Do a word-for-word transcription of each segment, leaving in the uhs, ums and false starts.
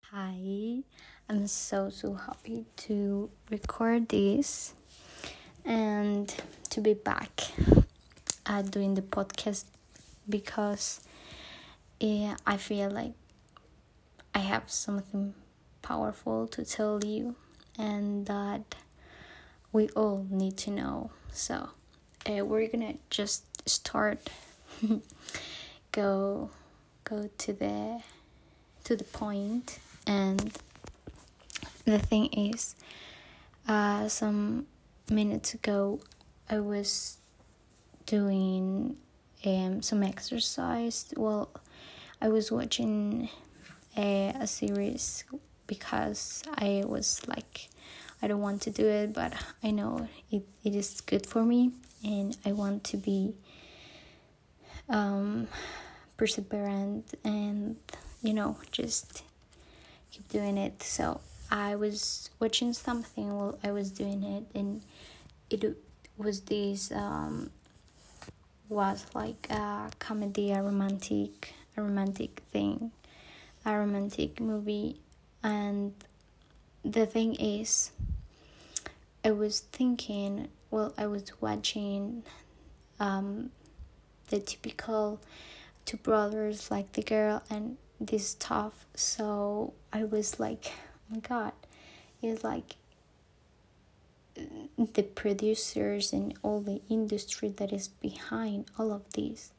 Hi, I'm so so happy to record this and to be back uh, doing the podcast because uh, I feel like I have something powerful to tell you and that we all need to know. So uh, we're gonna just start go go to the to the point and the thing is uh, some minutes ago I was doing um, some exercise. Well, I was watching a, a series because I was like, I don't want to do it, but I know it, it is good for me and I want to be um, perseverant and, you know, just keep doing it. So I was watching something while I was doing it, and it was this um was like a comedy, a romantic, a romantic thing, a romantic movie, and the thing is, I was thinking, well, I was watching um the typical two brothers, like the girl and this stuff. So I was like, oh my god, it's like the producers and all the industry that is behind all of this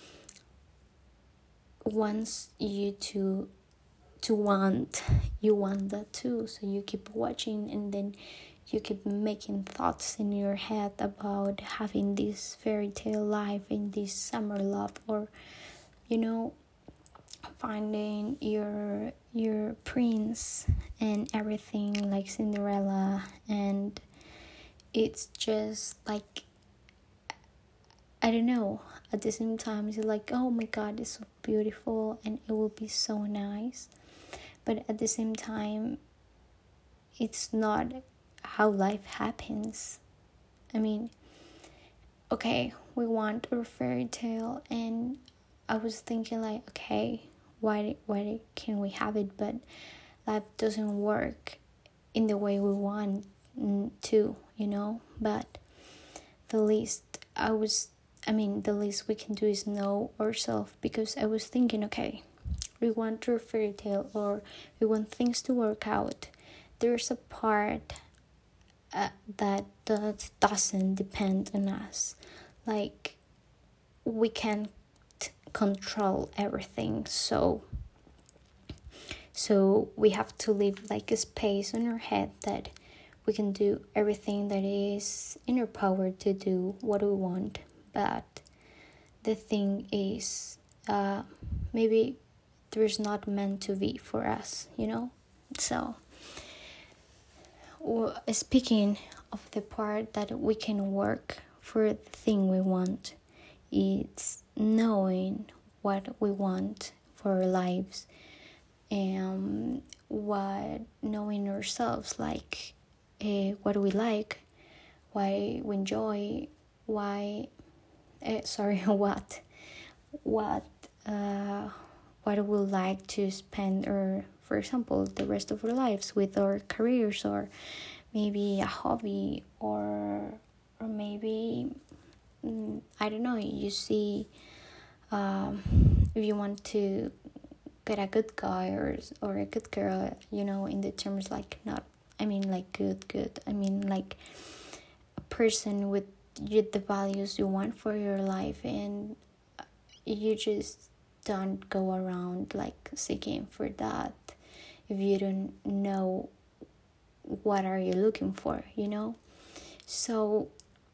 wants you to to want you want that too, so you keep watching and then you keep making thoughts in your head about having this fairy tale life in this summer love, or you know, finding your your prince and everything like Cinderella. And it's just like, I don't know, at the same time it's like, oh my god, it's so beautiful and it will be so nice, but at the same time it's not how life happens. I mean, okay, we want a fairy tale, and I was thinking like, okay, why why can we have it, but life doesn't work in the way we want to, you know. But the least I was I mean the least we can do is know ourselves, because I was thinking, okay, we want a fairy tale or we want things to work out. There's a part uh, that that doesn't depend on us. Like, we can't control everything, so so we have to leave like a space in our head that we can do everything that is in our power to do what we want. But the thing is, uh, maybe there's not meant to be for us, you know. So well, speaking of the part that we can work for the thing we want, it's knowing what we want for our lives, and what knowing ourselves, like uh, what we like, why we enjoy, why uh, sorry what what uh, what we like to spend, or for example the rest of our lives with our careers, or maybe a hobby, or or maybe mm, I don't know, you see, um, if you want to get a good guy or or a good girl, you know, in the terms like, not, I mean like good good I mean like a person with you, the values you want for your life, and you just don't go around like seeking for that if you don't know what are you looking for, you know. So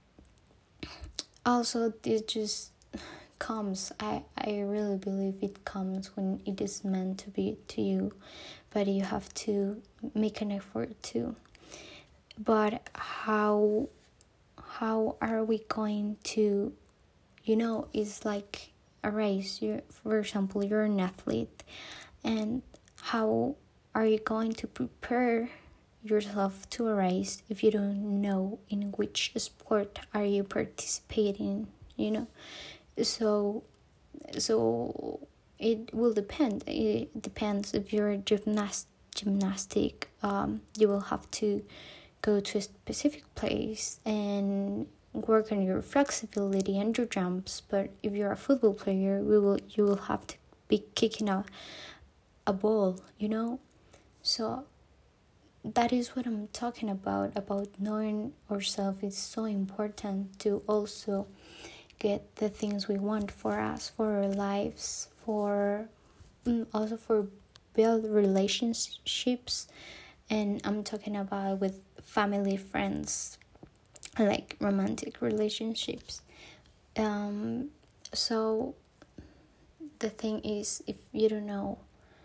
also this just comes, I, I really believe it comes when it is meant to be to you, but you have to make an effort too. But how how are we going to, you know, it's like a race. You're, for example, you're an athlete, and how are you going to prepare yourself to a race if you don't know in which sport are you participating, you know. So so it will depend. It depends if you're a gymnast gymnastic, um, you will have to go to a specific place and work on your flexibility and your jumps. But if you're a football player, we will you will have to be kicking a, a ball, you know. So that is what I'm talking about. About knowing ourselves is so important to also get the things we want for us, for our lives, for also for build relationships. And I'm talking about with family, friends, like romantic relationships. Um, so the thing is, if you don't know,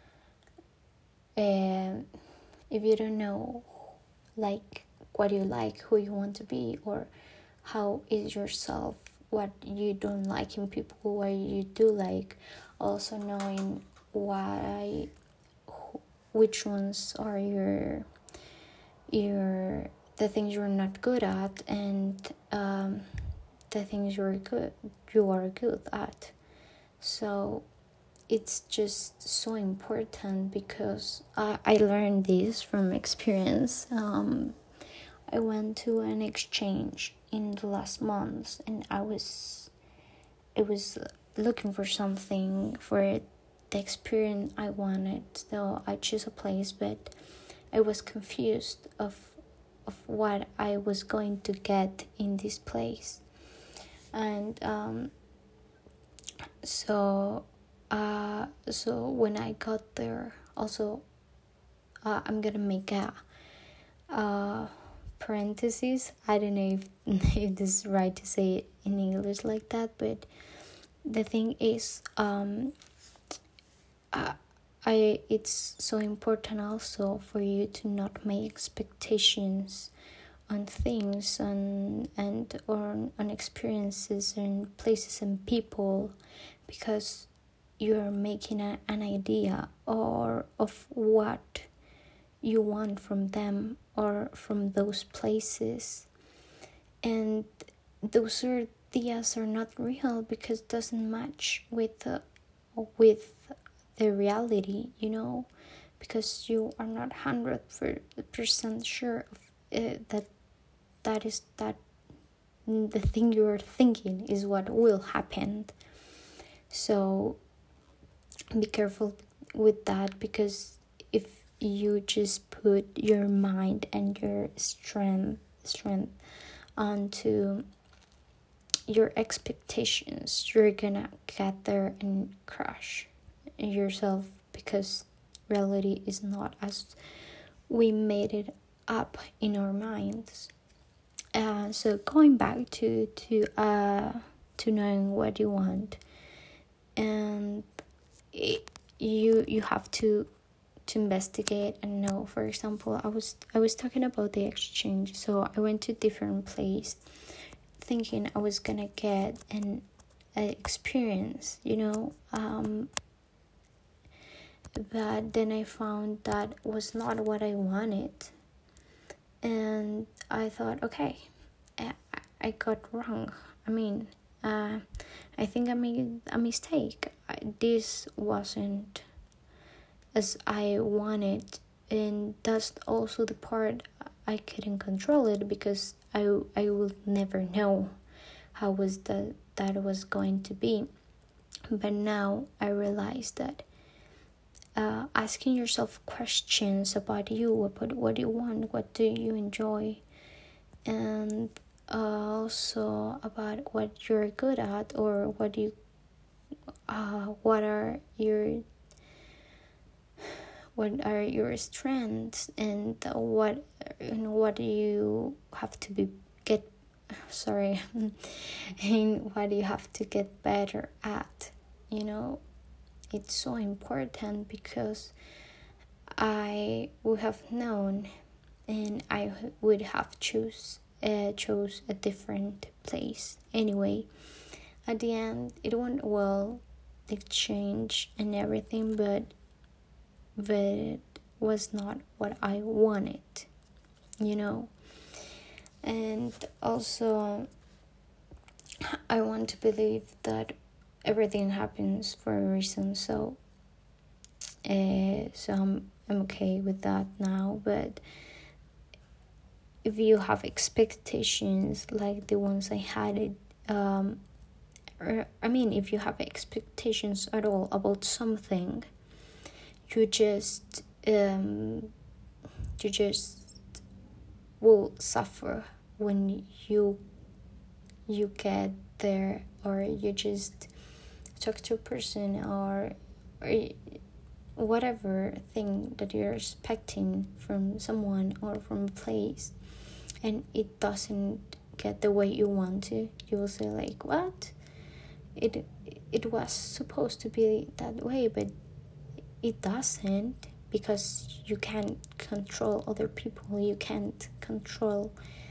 uh, if you don't know, like what you like, who you want to be, or how is yourself, what you don't like in people, what you do like, also knowing why, which ones are your your the things you're not good at, and um, the things you're good you are good at. So it's just so important, because I, I learned this from experience. um, I went to an exchange in the last months, and I was I was looking for something for the experience I wanted. So I chose a place, but I was confused of of what I was going to get in this place. And um, so uh, so when I got there, also uh, I'm gonna make a uh, parentheses. I don't know if, if this is right to say it in English like that, but the thing is, um, uh, I it's so important also for you to not make expectations on things, on and or on, on experiences and places and people, because you're making a, an idea or of what you want from them or from those places, and those ideas are not real because it doesn't match with the, with the reality, you know, because you are not one hundred percent sure of uh, that that is that the thing you're thinking is what will happen. So be careful with that, because if you just put your mind and your strength strength onto your expectations, you're gonna get there and crush yourself, because reality is not as we made it up in our minds. Uh, so going back to to uh to knowing what you want, and it, you you have to to investigate and know. For example, I was I was talking about the exchange. So I went to different place, thinking I was gonna get an, an experience, you know. Um, but then I found that was not what I wanted, and I thought, okay, I, I got wrong. I mean, uh, I think I made a mistake. I, this wasn't as I wanted, and that's also the part I couldn't control it, because I I would never know how was that that was going to be. But now I realize that uh, asking yourself questions about you, about what you want, what do you enjoy, and uh, also about what you're good at, or what you uh, what are your what are your strengths, and what and what do you have to be get sorry and what do you have to get better at, you know. It's so important, because I would have known, and I would have choose uh, chose a different place anyway. At the end, it went well, the exchange and everything, but but it was not what I wanted, you know. And also, I want to believe that everything happens for a reason. So, uh, so I'm I'm okay with that now. But if you have expectations like the ones I had, it um or I mean, if you have expectations at all about something, you just um you just will suffer when you you get there, or you just talk to a person, or or whatever thing that you're expecting from someone or from a place, and it doesn't get the way you want to. You will say like, what? It it was supposed to be that way, but it doesn't, because you can't control other people. You can't control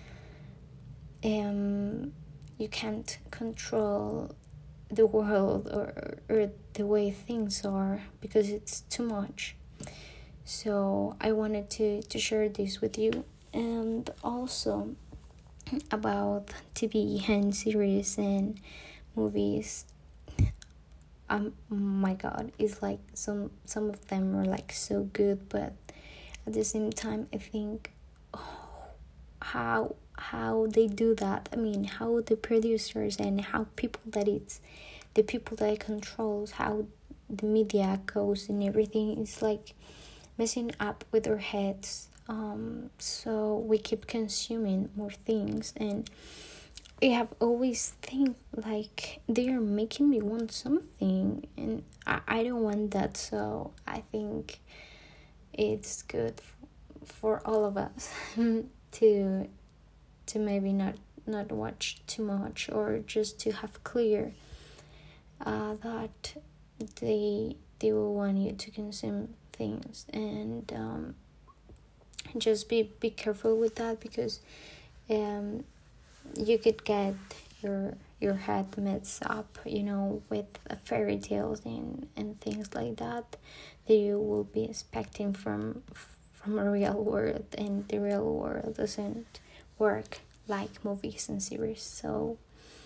um you can't control the world, or, or the way things are, because it's too much. So I wanted to to share this with you. And also about T V and series and movies, um my god, it's like some some of them are like so good, but at the same time I think, oh, how how they do that. I mean, how the producers and how people that it's the people that it controls, how the media goes and everything is like messing up with our heads. Um so we keep consuming more things, and I have always think like they are making me want something, and I, I don't want that. So I think it's good f- for all of us to to maybe not not watch too much, or just to have clear uh, that they they will want you to consume things, and um, just be be careful with that, because um you could get your your head mixed up, you know, with uh, fairy tales and and things like that that you will be expecting from from a real world, and the real world doesn't work like movies and series. So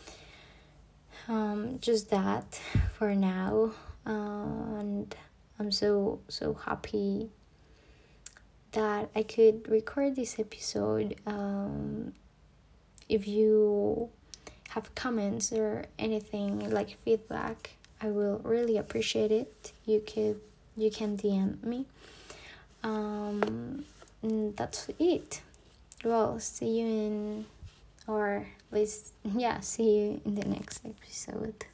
um just that for now. Uh, and I'm so so happy that I could record this episode. Um if you have comments or anything like feedback, I will really appreciate it. You could you can D M me. Um and that's it. Well, see you in or at least yeah, see you in the next episode.